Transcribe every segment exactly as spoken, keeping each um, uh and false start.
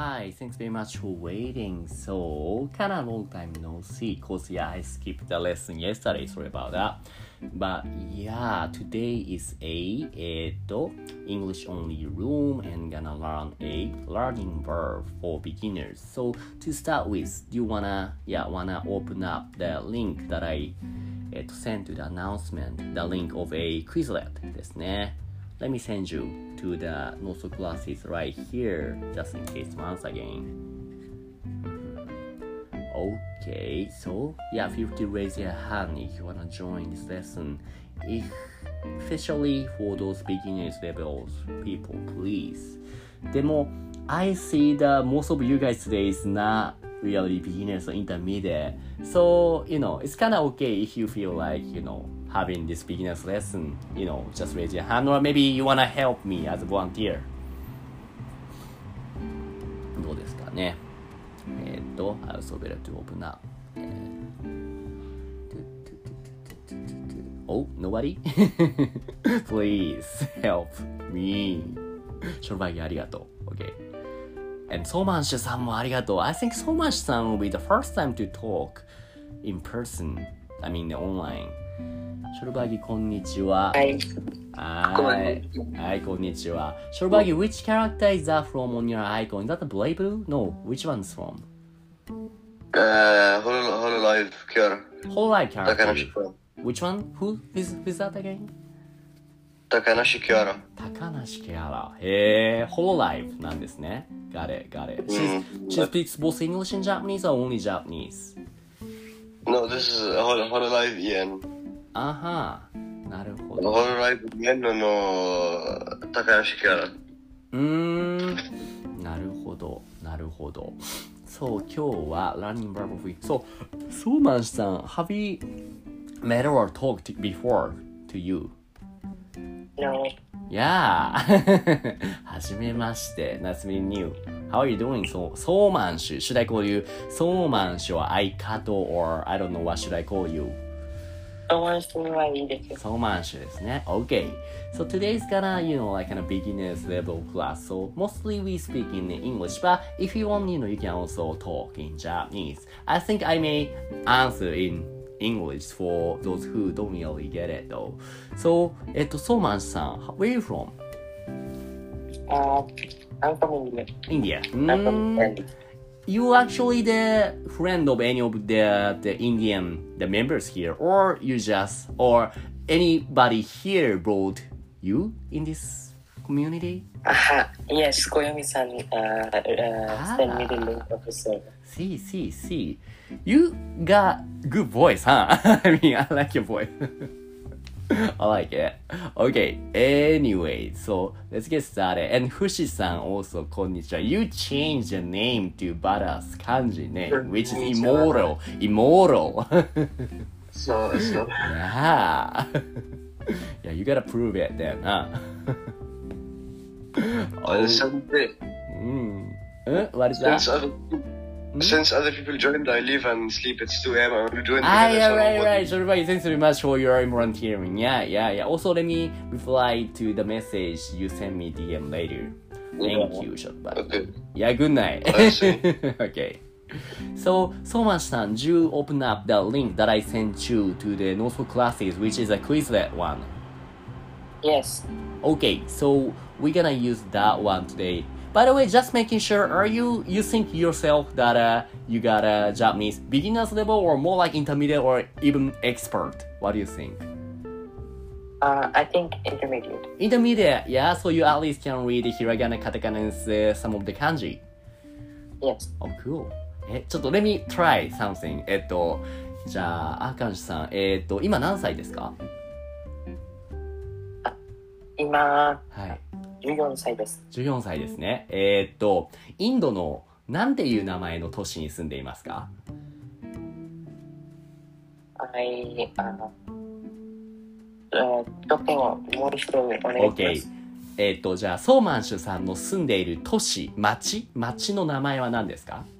Hi, thanks very much for waiting. So, kind of long time no see, cause yeah, I skipped the lesson yesterday. Sorry about that. But yeah, today is a えっと English only room and gonna learn a learning verb for beginners. So to start with, do you wanna yeah wanna open up the link that I えっと sent to the announcement, the link of a Quizlet ですね。Let me send you to the notes classes right here, just in case once again. Okay, so yeah, feel free to raise your hand if you wanna join this lesson. If, especially for those beginners levels people, please. でも I see that most of you guys today is not really beginners or intermediate. So, you know, it's kind of okay if you feel like, you know, having this beginner's lesson, you know, just raise your hand or maybe you want to help me as a volunteer. どうですかね。えー、っと、I also better to open up. Oh, nobody? Please help me. ショルバギありがとう。Okay.And ソーマンシュさんもありがとう。I think ソーマンシュさん will be the first time to talk in person. I mean, online. ショルバギ、こんにちは。 はい。 はい。はい、こんにちは。ショルバギ、which character is that from on your icon? Is that the Blade Blue? No, which one's from? Uh, Hololive Kiara. Hololive character. Takanashi Kiara. Which one? Who is, is that again? Takanashi Kiara. 高梨ケアラ。へー、Hololive なんですね。Got it, got it. She's, she speaks both English and Japanese or only Japanese? No, this is Hol- Hololive E N. あはー、なるほど。 Hololive E N の高梨キャラ。 うーん、なるほど、なるほど。そう、今日は Learning Verb of Week。そう、ソーマンさん、have you met or talked before to you?No. Yeah. はじめまして。Nice meeting you. How are you doing? そう、ソーマンシュ。Should I call you ソーマンシュ or アイカト or I don't know what should I call you? ソーマンシュはいいですよ。 ソーマンシュですね。Okay. So today's gonna, you know, like kind of beginner's level class. So mostly we speak in English, but if you want, you know, you can also talk in Japanese. I think I may answer in English for those who don't really get it though. So, えっと、ソーマンさん、where are you from? Uh, I'm from India. India. I'm from Mm, India. you actually the friend of any of the the Indian the members here, or you just or anybody here brought you in this community? Aha, yes, Koyomi-san uh, uh, sent me the link of the server. See, see, see. You got good voice, huh? I mean, I like your voice. I like it. Okay, anyway, so let's get started. And Fushi-san also, こんにちは. You changed your name to Bada's kanji name, which is immortal. Immortal. So, so. Yeah. Yeah, you gotta prove it then, huh? Oh. Since, mm. uh, what is that? since, other, since other people joined, I leave and sleep. It's two a.m. I'm doing Ah, yeah, right, right. So, everybody, thanks very much for your volunteering. Yeah, yeah, yeah. Also, let me reply to the message you sent me D M later. Thank yeah. you, Shotbag. Okay. Yeah, good night. I see. Okay. So, so much time. You open up the link that I sent you to the Notes classes, which is a Quizlet one. Yes. Okay, so we're gonna use that one today. By the way, just making sure, are you, you think yourself that uh, you got a Japanese beginner's level or more like intermediate or even expert? What do you think? Uh, I think intermediate. Intermediate, yeah? So you at least can read hiragana, katakana, and uh, some of the kanji? Yes. Oh, cool. え、ちょっと let me try something. えっと、じゃあ、アカンシさん、えっと、今何歳ですか？ 今、 はい。 じゅうよんさいです。 じゅうよんさいですね。えー、っと、インドのなんていう名前の都市に住んでいますか？ I, uh, uh, 得点をもう一度お願いします。 OK。えー、っと、じゃあ、ソーマンシュさんの住んでいる都市、町、町の名前は何ですか？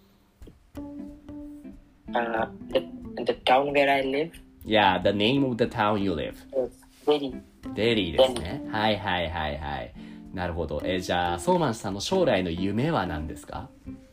Uh, the, the town where I live? Yeah, the name of the town you live. Is Delhi. デリーですね。はいはいはいはい。 なるほど。えー、じゃあ、ソーマンさんの将来の夢は何ですか？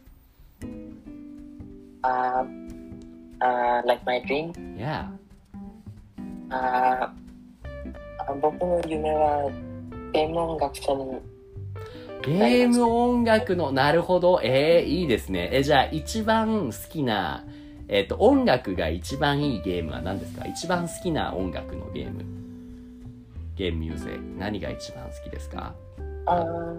Uh, uh, like my dream? Yeah. Uh, 僕の夢はゲーム音楽者に。 ゲーム音楽の、なるほど。えー、いいですね。えー、じゃあ、一番好きな、えっと、音楽が一番いいゲームは何ですか？一番好きな音楽のゲーム。ゲームミュージック。何が一番好きですか ？Uh,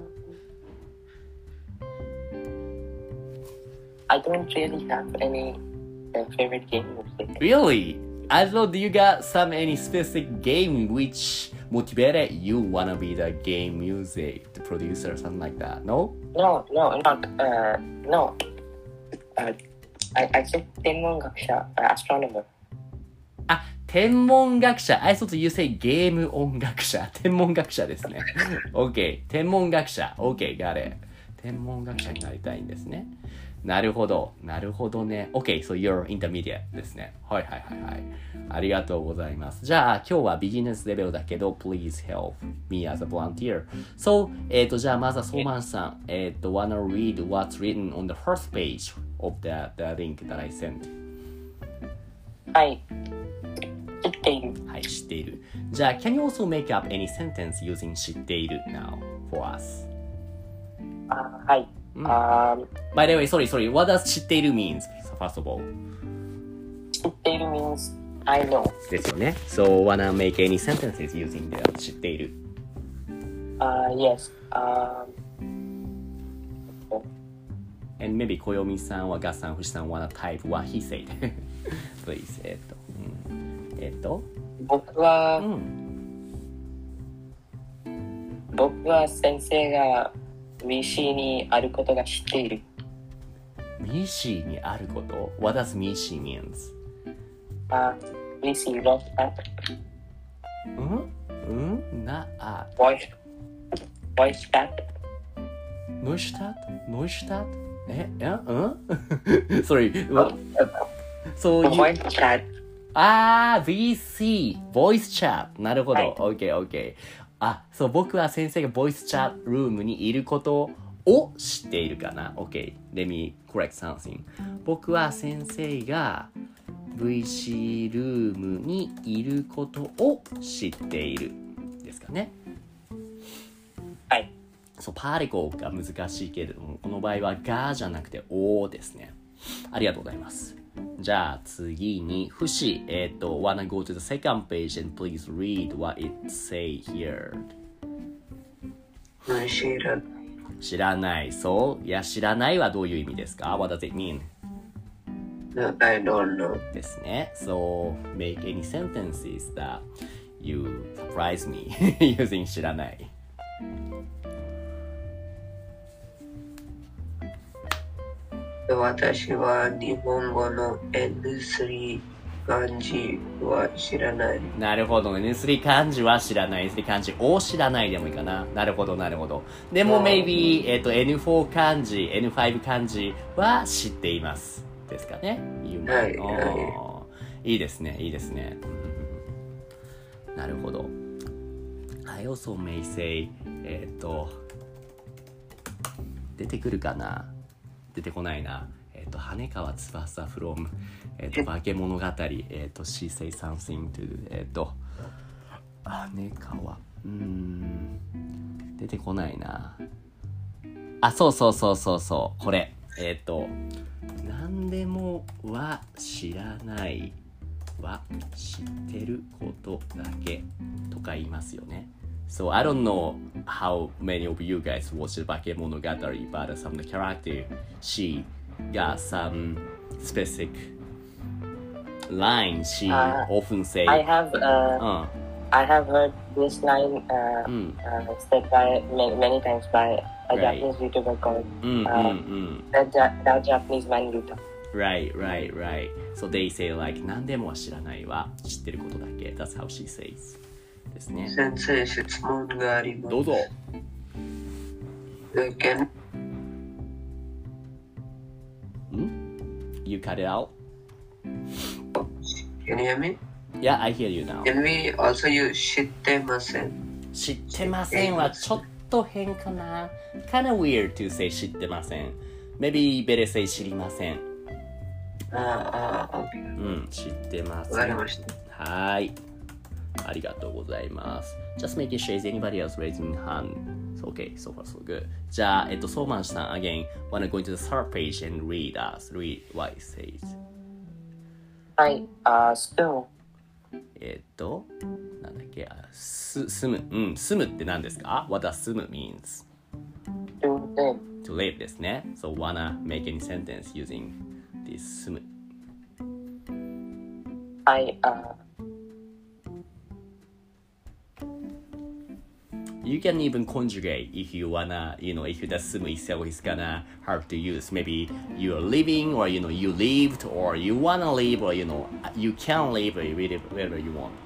I don't really have any uh, favorite game music. Really? I thought you got some any specific game which motivated you wanna be the game music the producer or something like that. No? No, no, not uh, no. Uh, I I said 天文学者 uh, astronomer. あ、天文学者。I thought you say ゲーム音楽者。天文学者ですね。OK。天文学者。OK、got it。天文学者になりたいんですね。なるほど。なるほどね。OK、so you're intermediate ですね。はいはいはいはい。ありがとうございます。じゃあ、今日はビジネスレベルだけど、please help me as a volunteer. So, えっと、じゃあ、まずはソーマンさん、えっと、wanna read what's written on the first page of the, the link that I sent. はい。知っている。 はい、知っている。じゃあ、can you also make up any sentence using 知っている now for us? あ、はい。 うん、 um, By the way, sorry, sorry. What does 知っている means? First of all. 知っている means I know. ですよね。So, wanna make any sentences using the 知っている。 Uh, yes. Um, And maybe 小読さんはガッさん、フシさん wanna type what he said. Please. えっと、うん、えっと、 僕は、 うん、 僕は先生が ブイシー にあることが知っている。 ミシーにあること What does ミシー means? あ、ブイシー ロッタ。 うんうんなあ。 ボイス、ボイスタット。 ノイシュタットノイシュタットえうん Sorry. What? So you... ボイスチャット。 あー、ブイシー。ボイスチャット。なるほど。 はい、 OK, OK. あ、そう、僕は先生がボイスチャットルームにいることを知っているかな。OK. Let me correct something. 僕は先生が ブイシー ルームにいることを知っている。ですかね。 はい。 そう、パーリコが難しいけれども、この場合はがじゃなくておですね。ありがとうございます。じゃあ次に、フシ、えっと、wanna go to the second page and please read what it say here. 知らない。 知らない。そう。いや、知らないはどういう意味ですか？ What does it mean? No, I don't know. ですね。So, make any sentences that you surprise me using 知らない。 私は日本語の エヌスリー 漢字は知らない。 なるほど。エヌスリー 漢字は知らない。エヌスリー 漢字を知らないでもいいかな。なるほど、なるほど。でも、maybe、えっと、エヌフォー 漢字、エヌファイブ 漢字は知っています。ですかね。 はい、はい。いいですね、いいですね。なるほど。I also may say、えっと、出てくるかな？出てこないな。えっ、ー、と、羽川翼 from、えっ、ー、と、化け物語、えっ、ー、と、she say something to、えっ、ー、と、羽川、うーん、出てこないな。あ、そうそうそうそうそう、これ。えっ、ー、と、何でもは知らないは知ってることだけとか言いますよね。So I don't know how many of you guys watched Bakemonogatari, but some of the character, she got some specific line she uh, often say. I have, uh, uh. I have heard this line uh, mm. uh, said by many, many times by a right. Japanese YouTuber called mm, uh, mm, mm. the, the Japanese Man Yuta. Right, right, right. So they say like 何でもは知らないは知ってることだけ. That's how she says. ですね。 先生、質問があります。 どうぞ。 Can... You cut it out? Can you hear me? Yeah, I hear you now. Can we also use 知ってません？ 知ってませんはちょっと変かな。kind of weird to say 知ってません。Maybe better say 知りません。 ああ、 うん、知ってます。 わかりました。 はい。ありがとうございます。Just making sure is anybody else raising hand?Okay, so far so good. じゃあ、えっと、ソーマンさん、again, wanna go into the third page and read us, read what it says. はい、あ、uh, スプーン。 えっと、なんだっけ、す、住む、うん、住むって何ですか ?What does 住む means? To live. To live ですね。So, wanna make any sentence using this 住む。 はい、あ、 You can even conjugate if you wanna, you know, if the sumu itself is gonna hard to use. Maybe you're living, or you know, you lived, or you wanna live, or you know, you can live wherever you want.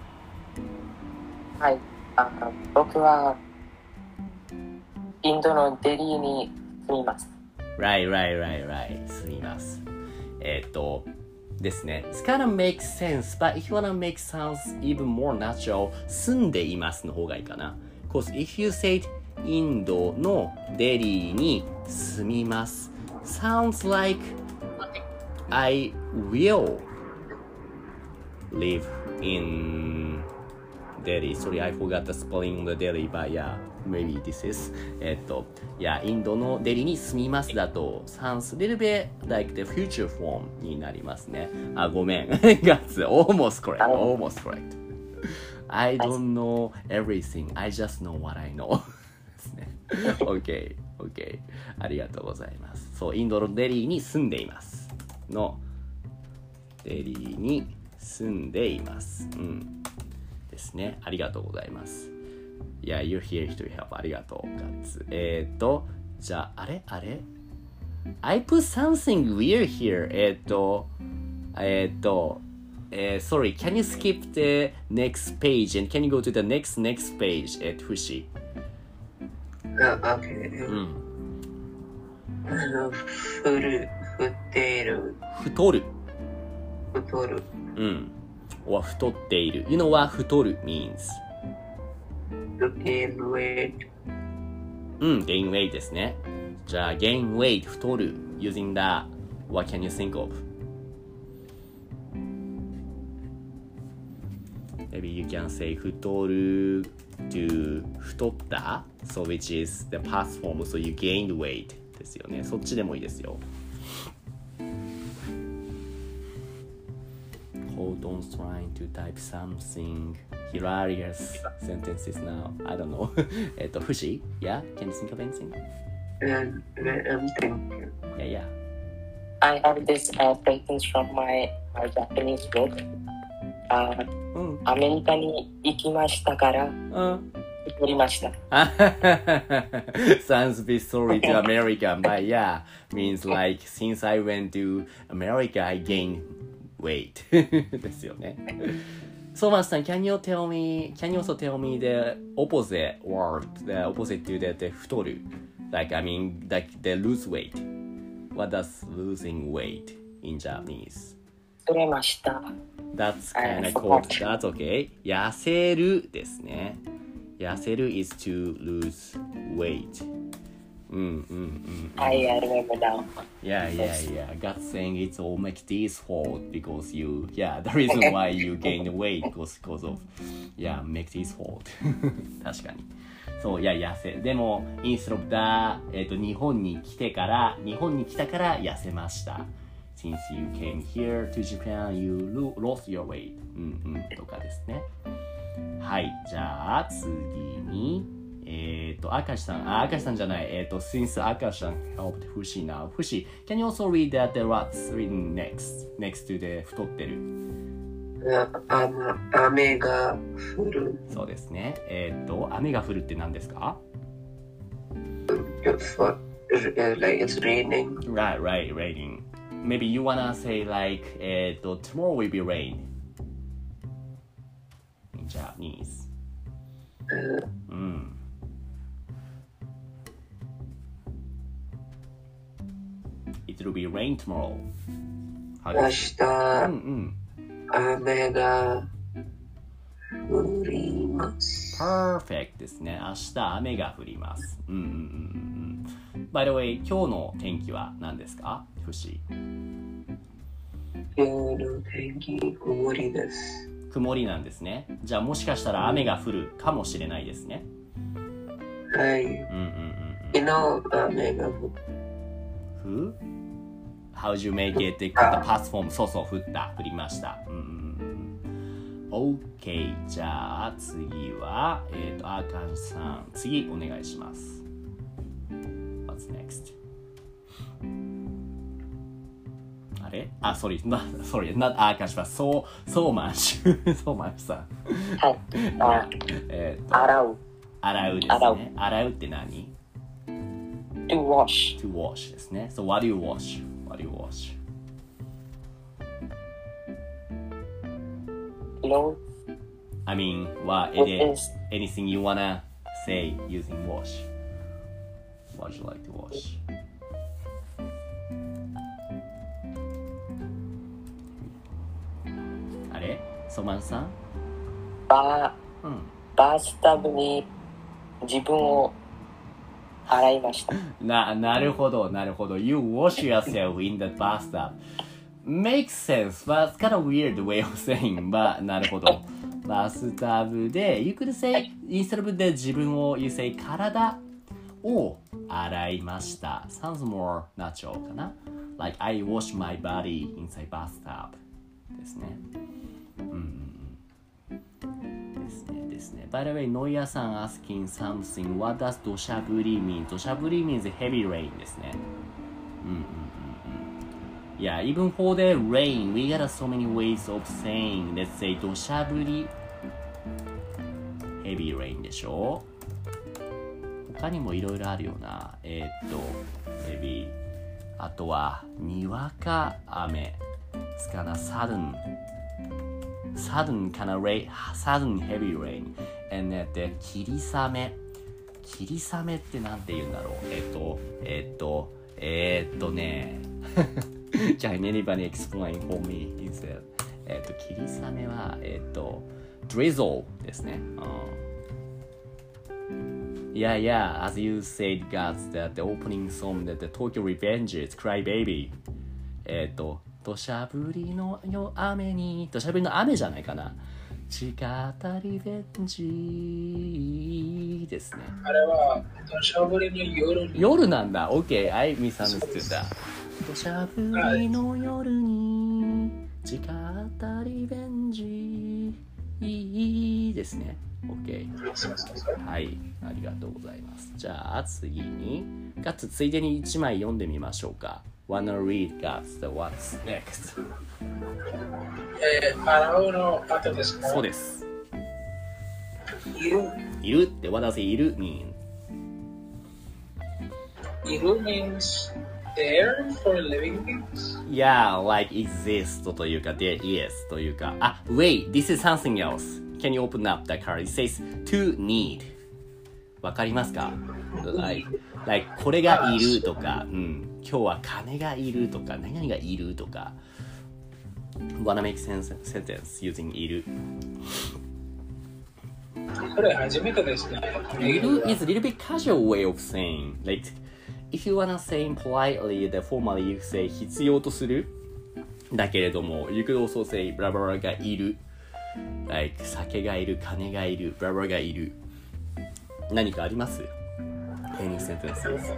はい、あ、僕はインドのデリーに住みます。 Right, right, right, right. 住みます。えっとですね。It's kind of makes sense, but if you wanna make sounds even more natural, 住んでいますの方がいいかな。Because if you say インドのデリーに住みます sounds like I will live in Delhi. Sorry, I forgot the spelling of the Delhi, but yeah, maybe this is えっと、いや、インドのデリーに住みますだと sounds a little bit like the future form になりますね。あ、ごめん。That's almost correct. Almost correct.I don't know everything. I just know what I know. ですね。OK, OK. ありがとうございます。そう、インドのデリーに住んでいます。の、デリーに住んでいます。うん。ですね。ありがとうございます。Yeah, you're here to help. ありがとう、ガッツ。えっと、じゃあ、あれあれ ?I put something weird here. えっと、えっと、Uh, sorry, can you skip the next page and can you go to the next next page at Fushi? Uh, okay. うん。 あの、ふる、ふっている。 太る。 太る。 うん。は太っている。You know what 太る means? To gain weight. うん、gain weight ですね。じゃあ、gain weight 太る using that, what can you think of?Maybe you can say 太る to 太った so which is the past form so you gained weight ですよね。そっちでもいいですよ。Hold on trying to type something hilarious sentences now. I don't know. えっと、ふし Yeah? Can you think of anything? Um, I'm thinking. Yeah, yeah. I have this uh, sentence from my, my Japanese book. Uh, うん、アメリカに行きましたから、うん、太りました。 Sounds a bit sorry to American, but yeah, means like since I went to America, I gained weight. ですよね。So, Master, can you tell me, can you also tell me the opposite word, the opposite to the, the 太る? Like, I mean, like the lose weight. What does losing weight in Japanese? 太れました。 That's kind of cool. That's okay. 痩せるですね。痩せる is to lose weight. うんうんうん。 I remember now. Yeah, yeah, yeah. God saying it's all Mekti's fault because you, yeah, the reason why you gained weight was because of, yeah, Mekti's fault. 確かに。そう、いや、痩せ。でも、instead of that, えっと、日本に来てから、日本に来たから痩せました。Since you came here to Japan, you lost your weight. うんうんとかですね。はい、じゃあ次に、えっと、明石さん、あ、明石さんじゃない、えっと、since 明石さん helped Fushi now. Fushi, can you also read that the what's written next, next to the 太ってる? あ、雨が降る。 そうですね。えっと、雨が降るって何ですか? For, like it's raining. Right, right, raining.Maybe you wanna say like, えっと、tomorrow will be rain. In Japanese. うん。It will be rain tomorrow. 明日、うんうん、雨が降ります。 Perfect ですね。明日雨が降ります。うんうんうんうん。By the way、今日の天気は何ですか？フシ。 今日の天気、曇りです。 曇りなんですね。じゃあもしかしたら雨が降るかもしれないですね。 はい。うんうんうん、昨日雨が降った。 Who? How'd you make it? The past form そうそう降った降りました。うんうんうん。OK じゃあ次はえっ、ー、とアーカンさん次お願いします。What's next? あれあ、sorry, not, sorry, not アーカンします。そう、そうまんしゅ、そうまんしさん。 はい。あえっ、ー、と洗う。 洗うですね。洗うって何 ？To wash. To wash ですね。So what do you wash? What do you wash? Clothes. I mean, what it is? Anything you wanna say using wash? What would you like to wash? あれ？ソマンさん？ バー、うん、バースタブに自分を洗いました。 な、なるほど、なるほど。You wash yourself in the bathtub. Makes sense, but it's kind of weird way of saying, but なるほど。バスタブで、you could say, instead of で自分を、you say 体を洗いました。Sounds more natural かな。Like, I wash my body inside bathtub ですね。うんですねですね。By the way, ノイヤさん asking something. What does 土砂降り mean? 土砂降り means heavy rain ですね。うんうんうんうん。Yeah, even for the rain, we got so many ways of saying, let's say 土砂降り heavy rain でしょ。他にもいろいろあるよな。えー、っと、maybe あとはにわか雨。つかな、sudden sudden kind of rain, sudden heavy rain. And で、霧雨。霧雨ってなんて言うんだろう。えっと、えっと、えー、っとね。Can anybody explain for me instead? えっと、霧雨は、えっと、drizzle ですね。Yeah, yeah, as you said, guys, that the opening song that the Tokyo Revengers, Cry Baby. えっと、土砂降りの雨に土砂降りの雨じゃないかな。地下たリベンジですね。 あれは土砂降りの夜に。 夜なんだ。OK, I misunderstood that. 土砂降りの夜に地下たリベンジですね。OK。はい、ありがとうございます。じゃあ次に、かつついでにいちまい読んでみましょうか。Wanna read, guys? So what's next? えー、洗うの後ですか？ そうです。 いる。 いるって、what does いる mean? いる means there for living things? Yeah, like exist というか there is というか。あ、wait, this is something else. Can you open up the card? It says to need. わかりますか？ Like, like これがいるとか、うん、今日は金がいるとか、何々がいるとか。Wanna make sense sentence using いる。 これ初めてですね。 いる is a little bit casual way of saying. Like, if you wanna say politely, the formally you say 必要とする。だけれども、you could also say ブラブラがいる。Like 酒がいる、金がいる、ブラブラがいる。何かあります？ Any sentences?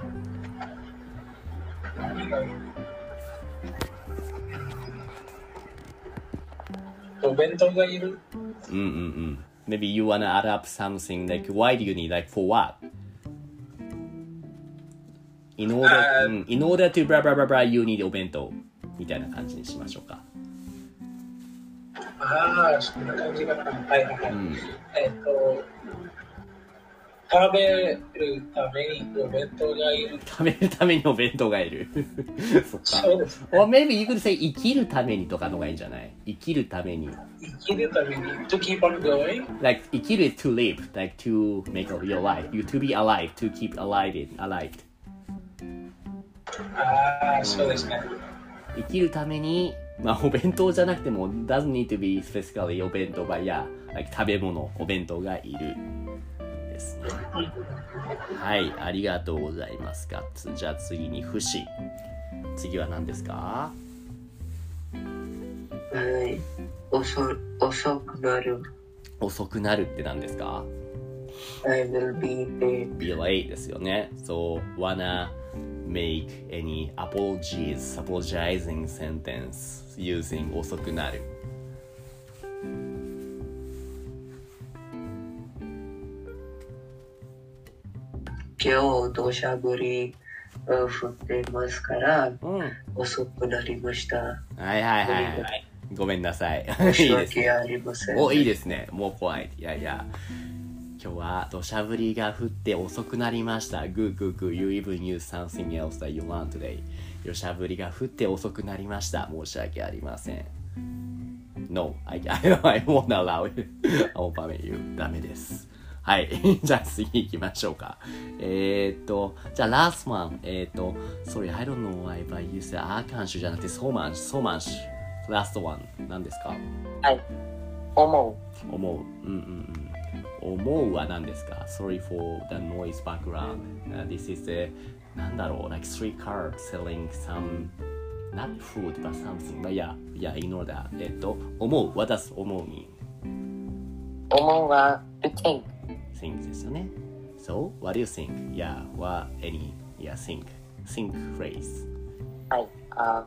お弁当がいる。 うんうんうん。Maybe you wanna add up something like why do you need like for what? In order,、uh, in order to blah blah blah blah you need お弁当みたいな感じにしましょうか。 ああ、そんな感じかな。はいはいはい。うん、えっと。食べるためにお弁当がいる。 食べるためにお弁当がいる。そっか。 そうです、ね。 Or maybe you could say 生きるためにとかのがいいんじゃない？生きるために。 生きるために to keep on going? Like 生きる is to live, like to make your life. You to be alive, to keep alive, alive. ああ、そうですね。 生きるためにまあお弁当じゃなくても doesn't need to be specifically お弁当ばや、like、食べ物、お弁当がいるですね。はい、ありがとうございますか。じゃあ次に不死。次は何ですか？ はい、遅遅くなる。 遅くなるって何ですか？ I will be late. Be late ですよね。So wanna make any apologies, apologizing sentence using 遅くなる。 今日土砂降り降ってますから、 うん、 遅くなりました。 はいはいはい、はい、ごめんなさい。 申し訳ありません。 お、いいですね。もう怖い。いやいや。今日は土砂降りが降って遅くなりました。Good, good, good. You even use something else that you want today. 土砂降りが降って遅くなりました。申し訳ありません。No, I, I, I won't allow it. I won't permit you. ダメです。はい。じゃあ次行きましょうか。えー、っと、じゃあ last one. えー、っと、sorry, I don't know why, but you said アーカンシュじゃなくて so much, so much.Last one 何ですか？ はい。思う。思う。うんうんうん。思うは何ですか？ Sorry for the noise background.、Uh, this is a なんだろう like street car selling some not food but something. But yeah, yeah, ignore that. えっと思う。What does 思う mean? 思うは to think. Think ですよね。So what do you think? Yeah, what any? Yeah, think. Think phrase. はい。あ。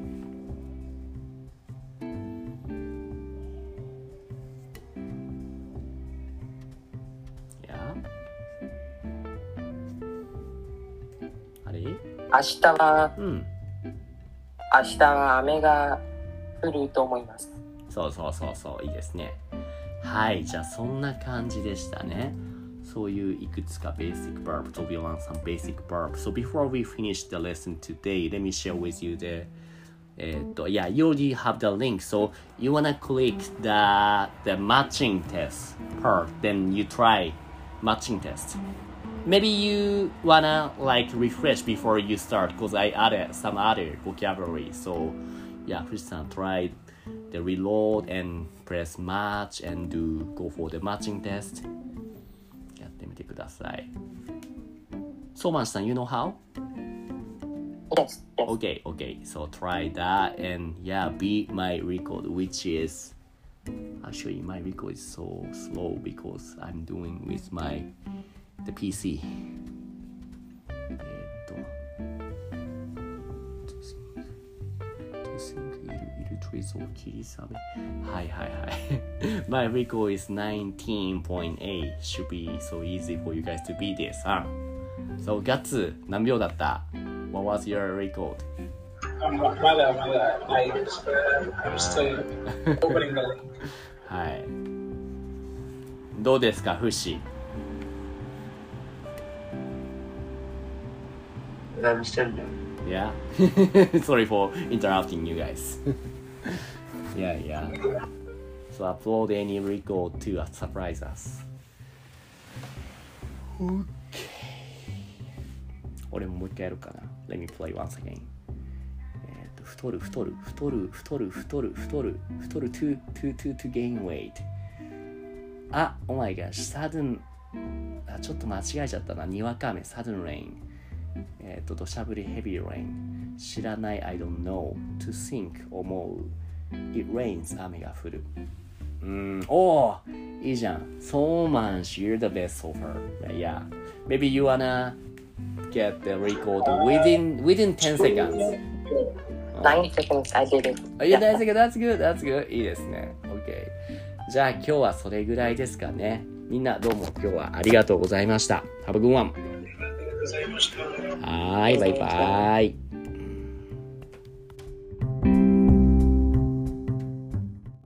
明日は、うん、明日は雨が降ると思います。 そうそうそうそう、いいですね。はい、じゃあそんな感じでしたね。そういういくつか basic verb. So we learn some basic verb. So before we finish the lesson today, let me share with you the, えっと、yeah, you already have the link. So you wanna click the, the matching test part. Then you try matching test.Maybe you wanna like refresh before you start because I added some other vocabulary. So yeah, Christian tried the reload and press match and do go for the matching test. やってみてください。So man san, you know how? Yes, yes. Okay, okay. So try that and yeah, beat my record, which is actually my record is so slow because I'm doing with my.The ピーシー えー、っと To think いるいるトリゾー切りサメはいはいはい My record is nineteen point eight should be so easy for you guys to beat this huh? So ガッツ何秒だった What was your record? まだまだ I'm still opening the link はいどうですかフシ I'm still Yeah. Sorry for interrupting you guys. yeah, yeah. So upload any record to surprise us. Okay. 俺ももう一回やるかな。Let me play once again. えっと太る太る太る太る太る太る太る to to to to gain weight. あ、oh my gosh, sudden あちょっと間違えちゃったな。にわか雨 sudden rain.えっと、土砂降り heavy rain 知らない I don't know to think 思う it rains 雨が降るうーんおーいいじゃん so much you're the best so far yeah maybe you wanna get the record within within ten seconds nine seconds I did it yeah nine seconds that's good that's good いいですね OK じゃあ今日はそれぐらいですかねみんなどうも今日はありがとうございました Have a good oneはい、バイバイ。